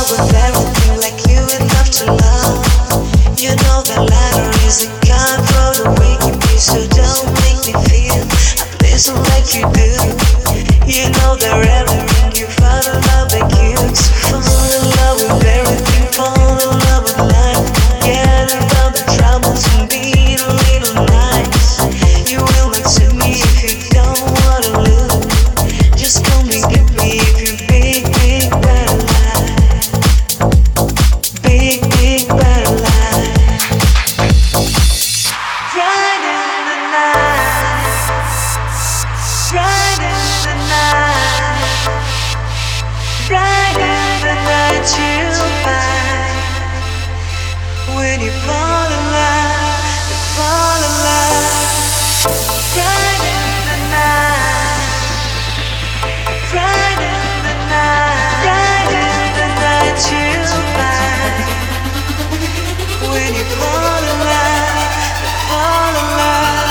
with everything like you would love to love. You know that ladder is a kind for the waking me, so don't make me feel a place like you do. You know that everything you fall in love like you. So fall in love with everything, fall in love with life. Forget about the troubles and be a little nice. You will not see me if you don't wanna lose. Just come and get me if you big, big bad life. Big, big bad life. Right in the night. Right in the night. Right in the night you'll find. When you fall in love, you fall in love. Right in the night. Right in the night. Right in the night you'll find. When you fall in love, you fall in love.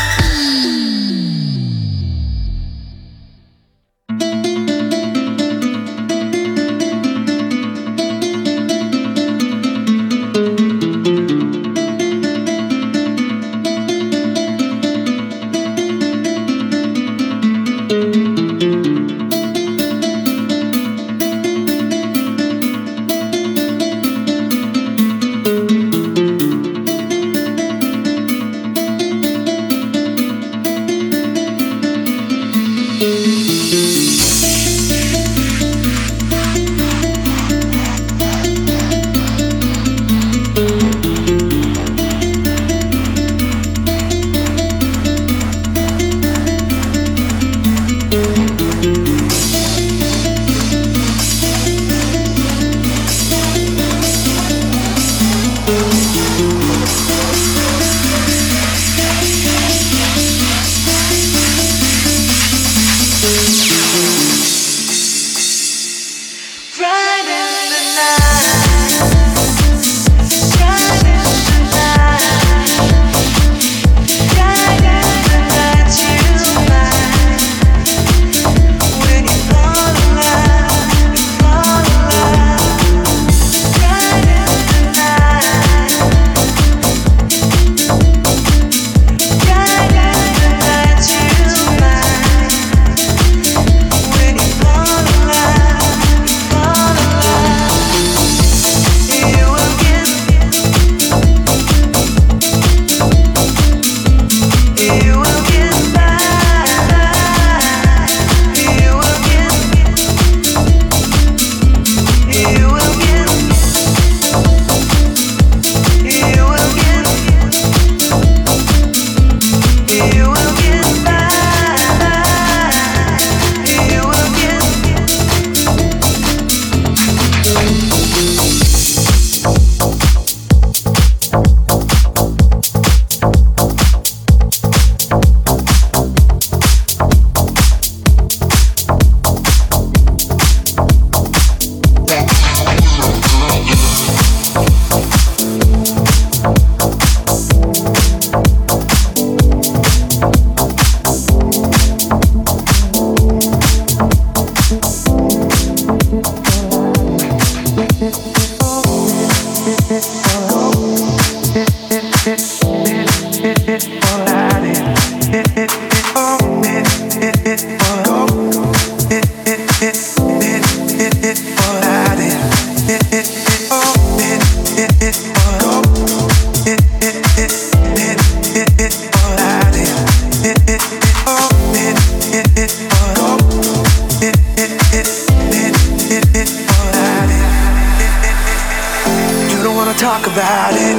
Talk about it.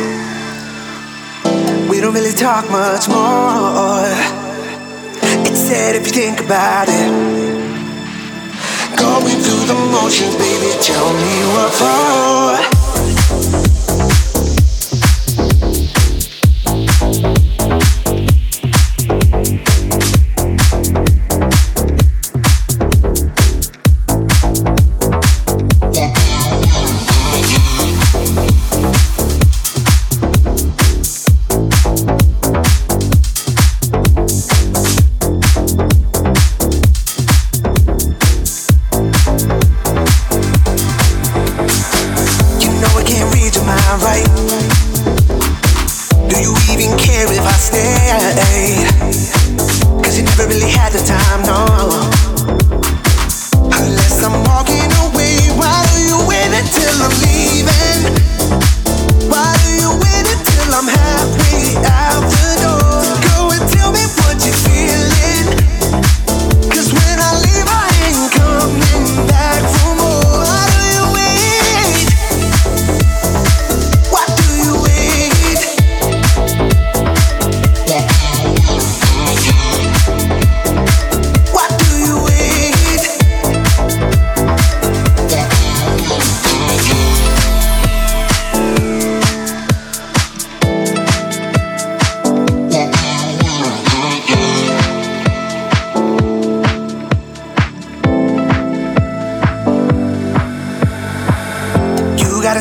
We don't really talk much more. It's sad if you think about it. Going through the motions, baby, tell me what for.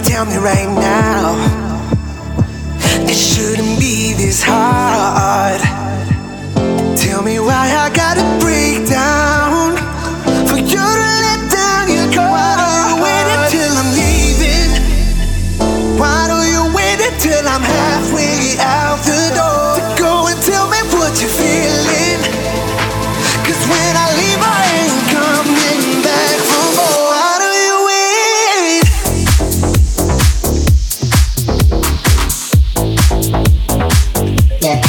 tell me right now, it shouldn't be this hard. Tell me why I gotta break down for you to let down your guard. Why do you wait until I'm leaving? Why do you wait until I'm halfway out the door to go and tell me what you're feeling? 'Cause when I leave I ain't coming back for more. Why do you wait? Yeah.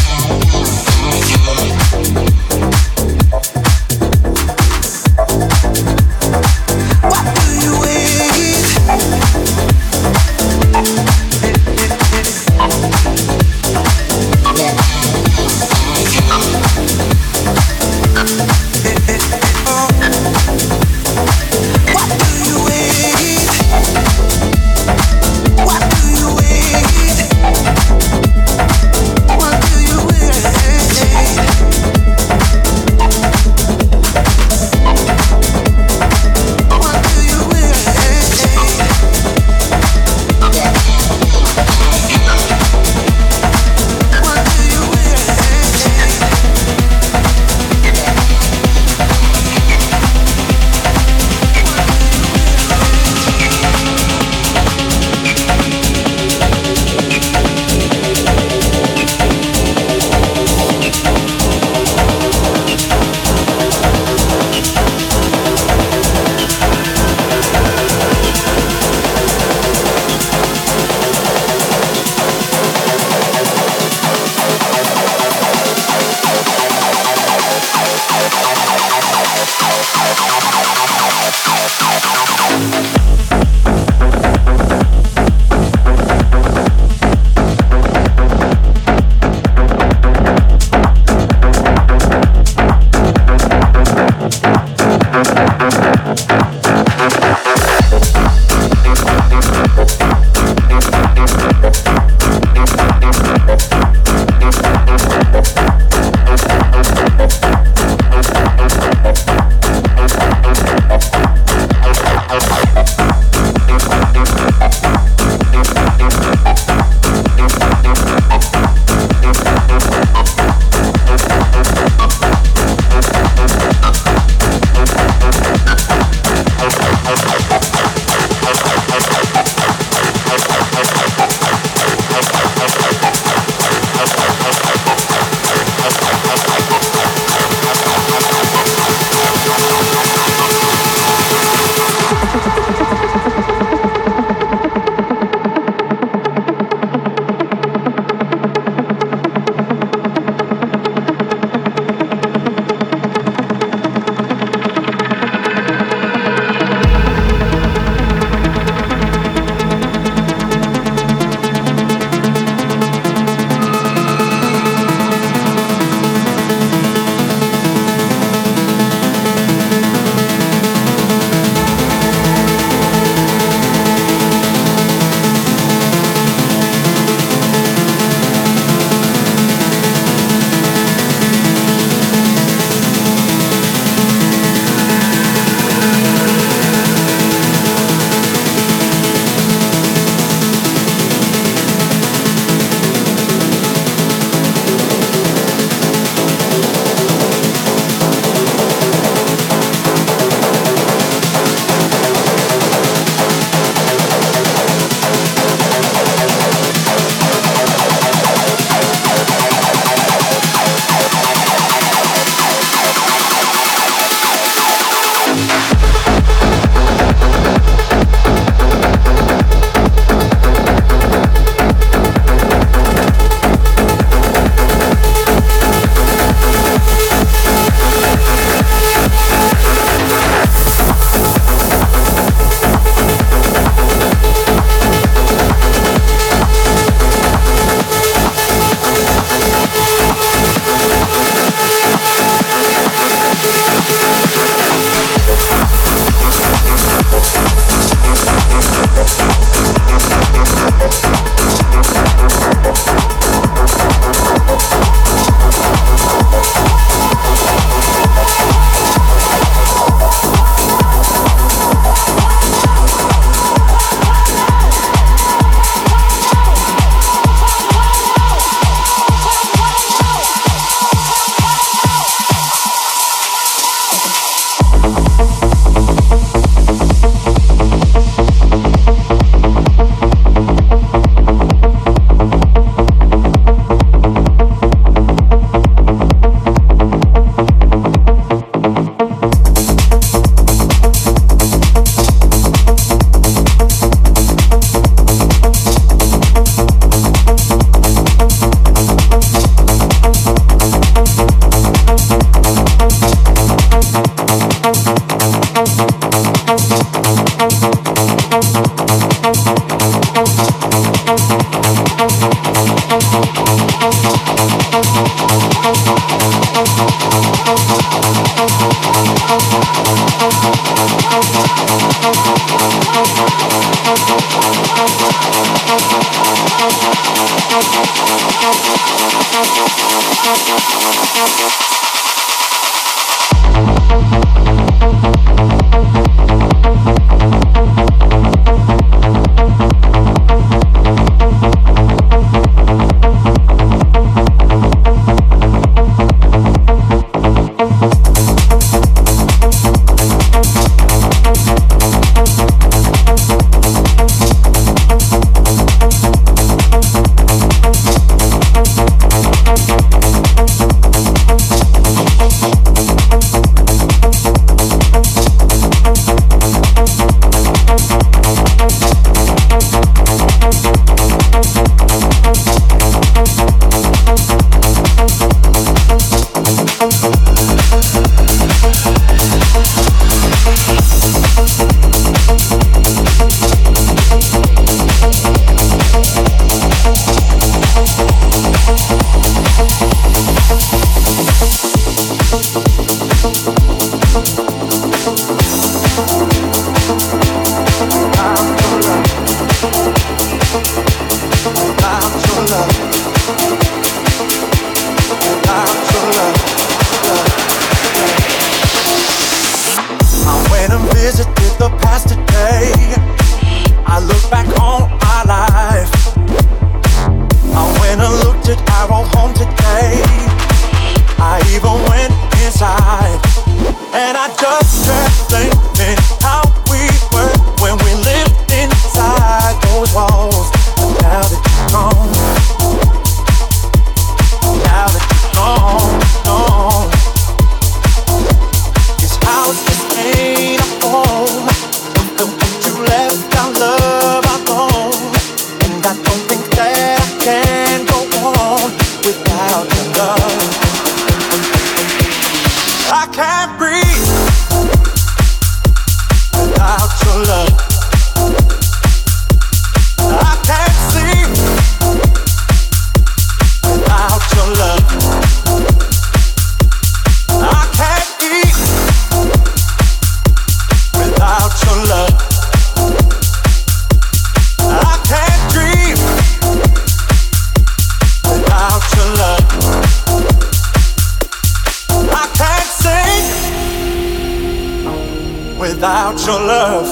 without your love.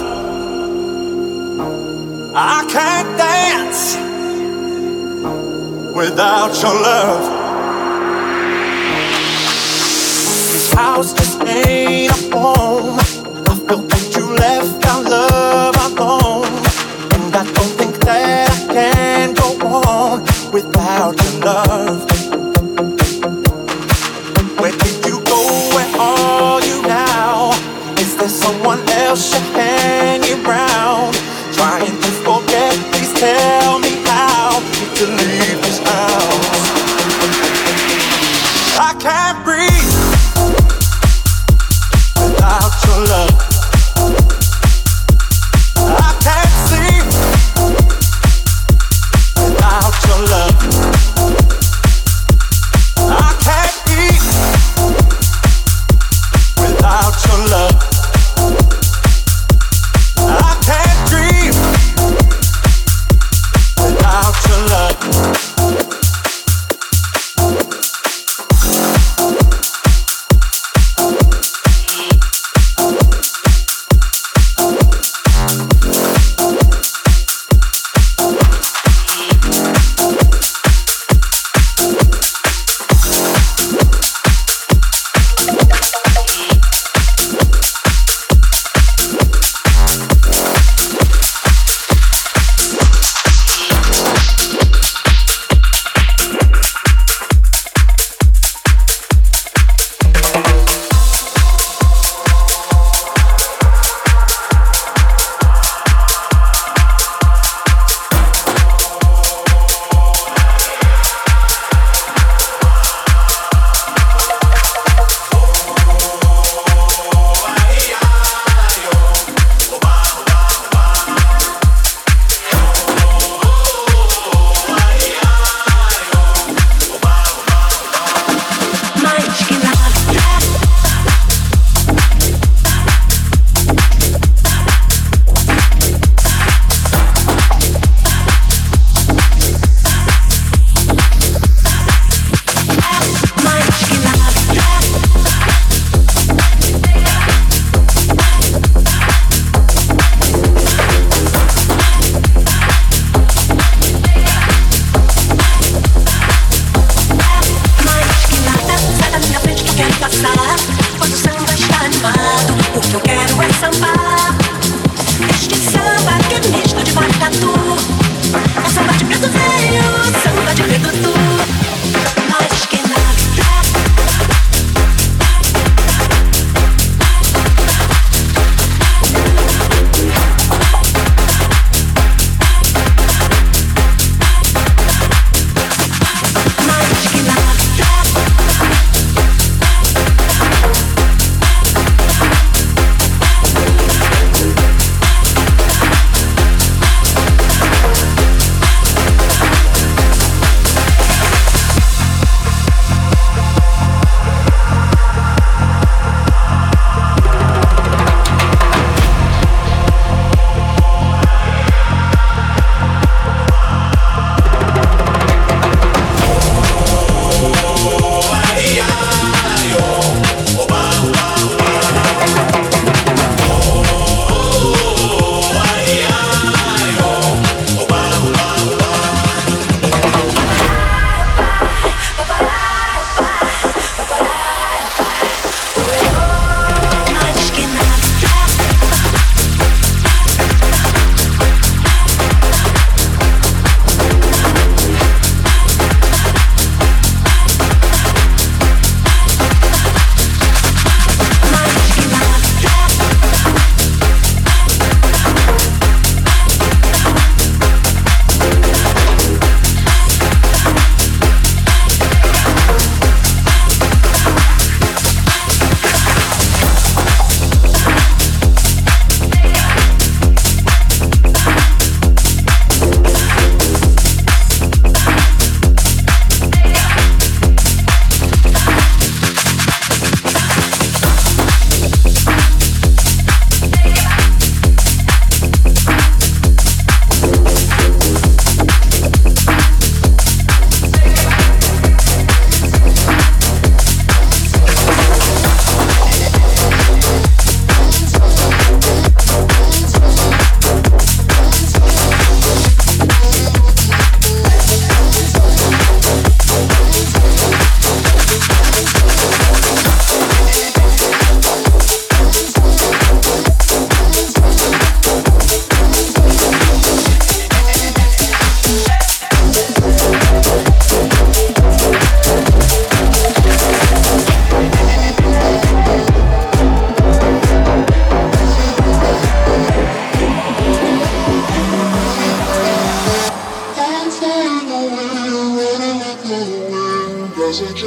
I can't dance without your love. This house just ain't a home. I feel that you left our love alone, and I don't think that I can go on without your love. Where did you go? Where are you now? Is there someone else you're hanging around? Trying to forget, please tell me how to leave this house. I can't breathe without your love. I can't sleep without your love. I can't eat without your love. I can't dream without your love.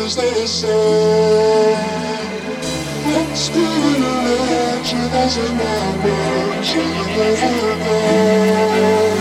is the same. Let's do it alone. She doesn't know. She never know.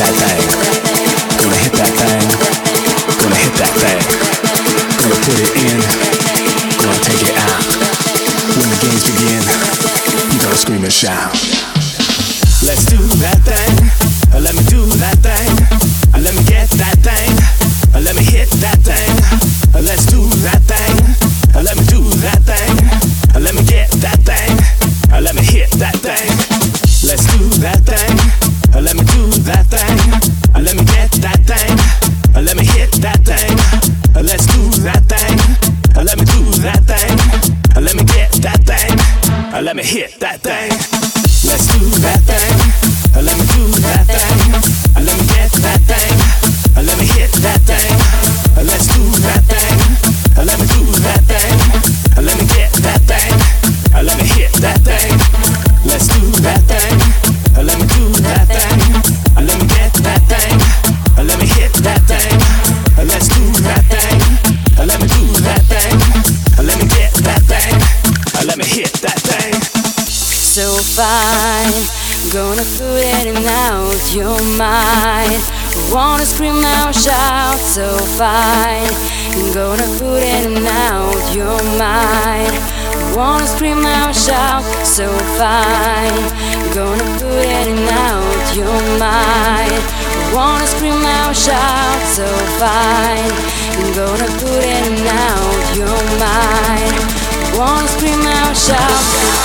that thing. Gonna hit that thing. Gonna hit that thing. Gonna put it in. Gonna take it out. When the games begin, you gonna scream and shout. Let's do that thing. Let me do that thing. Let me get that thing. Let me hit that thing. Let's do that thing. Let me do that thing. Let me get that thing. Let me hit that thing. Let's do that thing. Let me do that thing. Let me get that thing. Let me hit that thing. Let's do that thing. Let me do that thing. Let me get that thing. Let me hit that thing. Let's do that thing. Let me do that thing. Let me get that thing. Let me hit that thing. Let's do that thing. Let me do that thing. Let me get that thing. Let me hit that thing. Let's do that thing. Let me do that thing. Let me get that thing. Let me hit that thing. Let's do that thing. Let me do that thing. Let me get that thing. Let me hit that thing. So fine, gonna put it in out your mind. Wanna scream now, shout. So fine, gonna put it in out your mind. Wanna scream now, shout. So fine, gonna put it in out your mind. Wanna scream now, shout. So fine, gonna put it in out your mind. Wanna scream out, shout.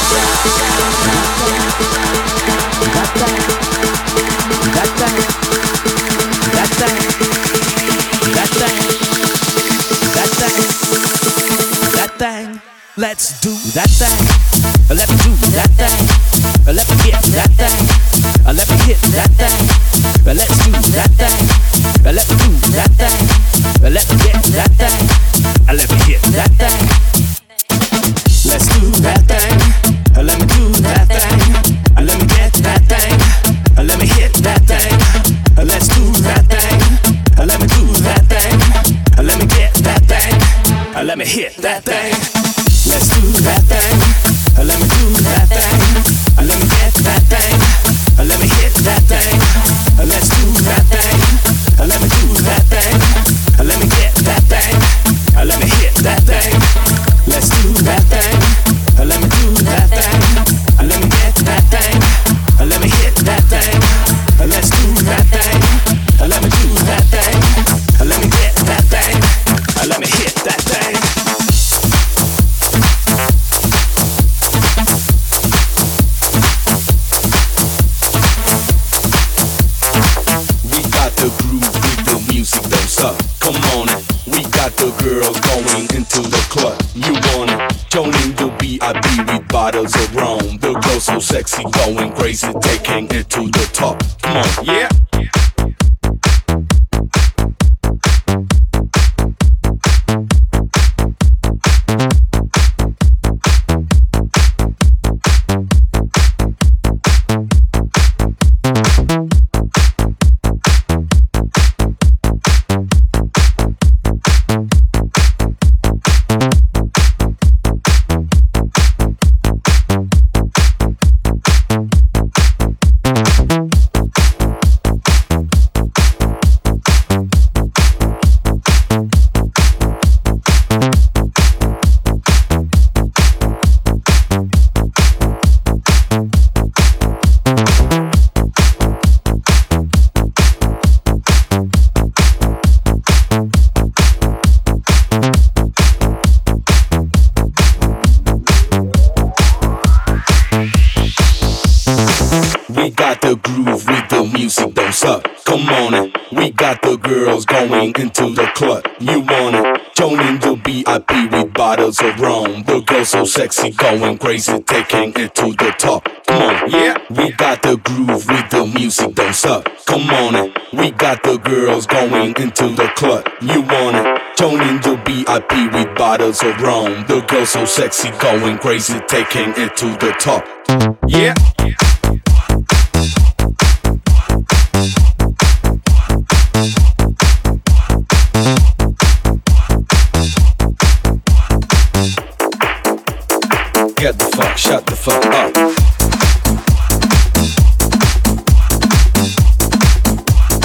Let's do that thing. Let me do that thing. Let me get that thing. Let me hit that thing. Let's do that thing. Let me do that thing. Let me get that thing. Let me hit that thing. Let's do that thing. Let me do that thing. Let me get that thing. Let me hit that thing. Let's do that thing. Let me do that thing. Let me get that thing. Let me hit that thing. Let's do that thing. Let me do that thing. Let me get that thing. Let me hit that thing. Let's do that thing. Let me do that thing. Let me get that thing. Let me hit that thing. Let's do that thing. Let me do that thing. Let me get that thing. Let me hit that thing. Let's do that thing. Let me do that thing. Let me get that thing. Let me hit that thing. Come on in, we got the girls going into the club. You want it? Joining the VIP with bottles of rum. The girls so sexy, going crazy, taking it to the top. Come on, yeah. Come on in, we got the girls going into the club. You want it? Joining the VIP with bottles of rum. The girls so sexy, going crazy, taking it to the top. Come on, yeah. We got the groove with the music, don't stop. Come on in, we got the girls going into the club. You want it? Joining the VIP with bottles of rum. The girls so sexy, going crazy, taking it to the top. Yeah. Get the fuck, shut the fuck up.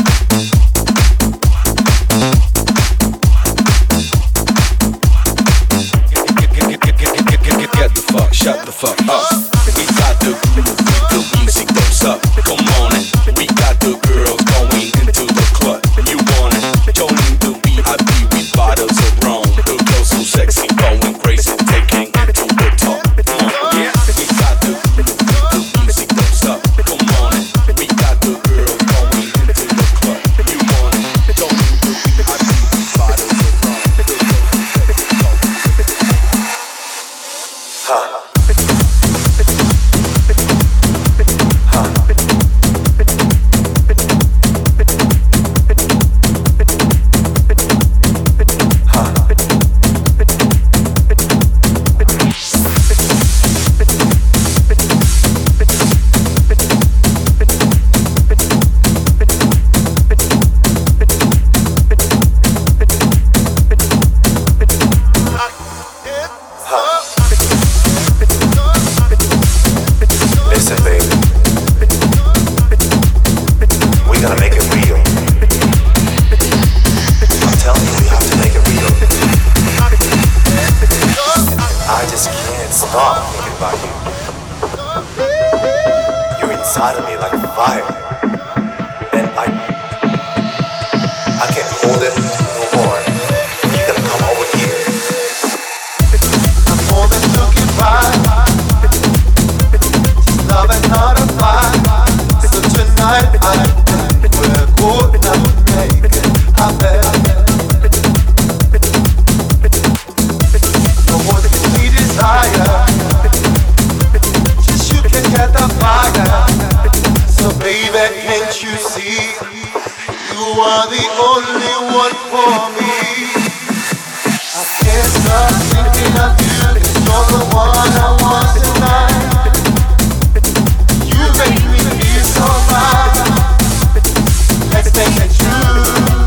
are the only one for me. I can't stop thinking of you, 'cause you're the one I want tonight. You make me feel so right. Let's make it true.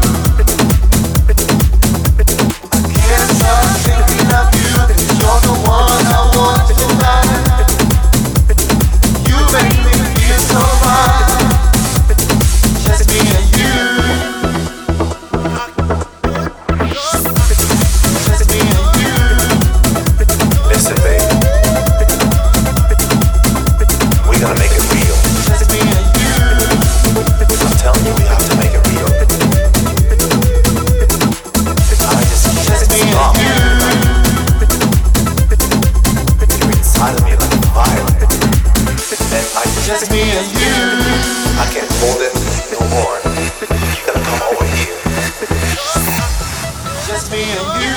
I can't stop thinking of you, 'cause you're the one I want tonight. You make me feel so right. Just me and you. Just me and you. Listen, baby. We gotta make it real. Just me and you. I'm telling you, we have to make it real. I just can't stop. You're inside of me like fire. And I Just me and you. I can't hold it no more. You gotta come over here. Just me and you.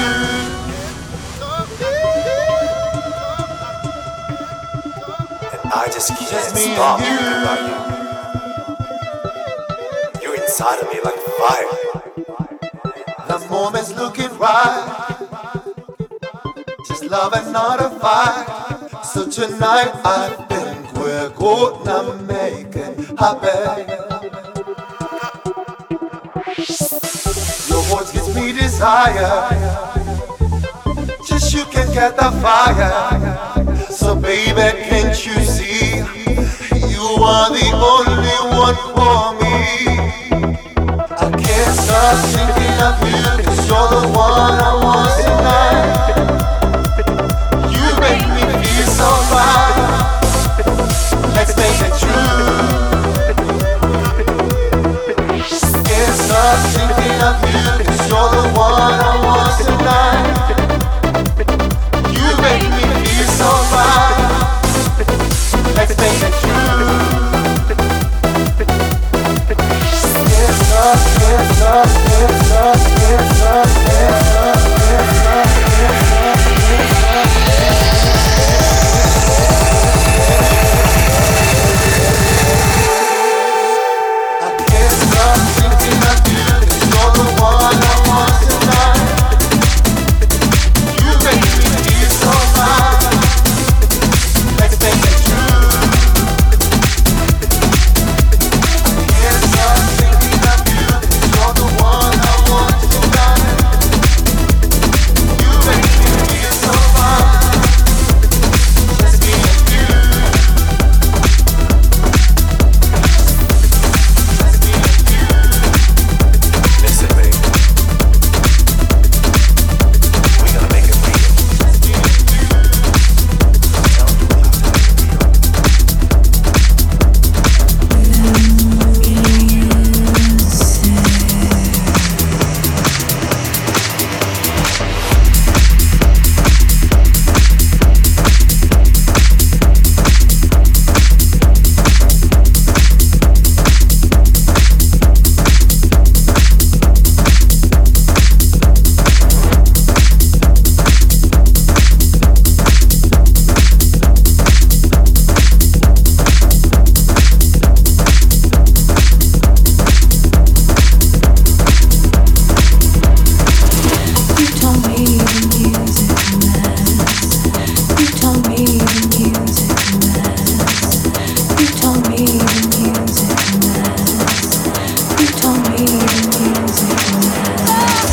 And I just can't Just me and stop you. thinking about you. You're inside of me like fire. The moment's looking right. Just love and not a fight. So tonight I think we're gonna make it happen. Your voice gives me desire. Just you can get the fire. So baby, can't you see? You are the only one for me. I can't stop thinking of you, 'cause you're the one I want tonight. You make me feel so right. Let's make it true. Can't stop thinking of you, 'cause you're the one I want tonight. You make me feel so right. Let's make it true. Can't stop, can't stop, can't stop, can't stop, can't stop, can't stop, can't stop, can't stop. I can't stop thinking of you, 'cause you're the one I want tonight. You make me feel so right. Let's make it true. Can't stop thinking of you, 'cause you're the one I want tonight. You make me feel so right. Just me and you. Just me and you. Listen, baby. We gotta make it real. Just me and you. I'm telling you, we have to make it real. You told me the music matters. You told me the music matters. You told me the music matters. You told me the music matters.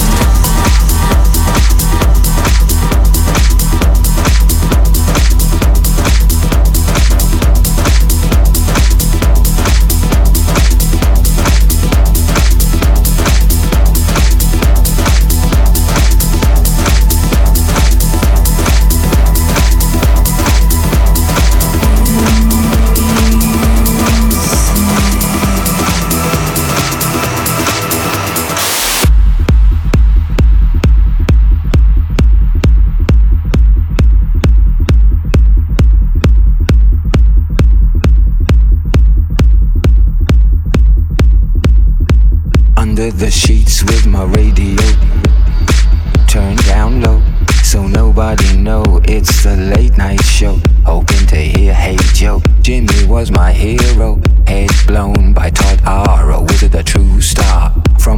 Under the sheets with my radio turned down low, so nobody know it's the late night show. Hoping to hear Hey Joe. Jimmy was my hero, head blown by Todd Arrow. Was it a true star? From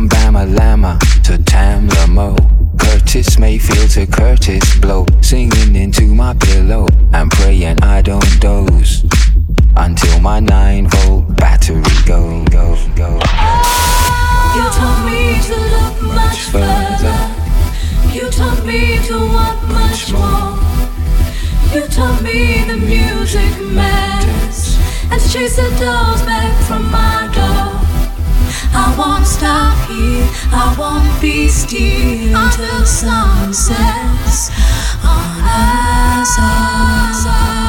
much further. You taught me to want much more. You taught me the music matters, and to chase the dolls back from my door. I won't stop here, I won't be still until the sun sets on us all.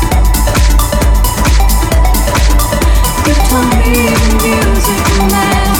Music matters.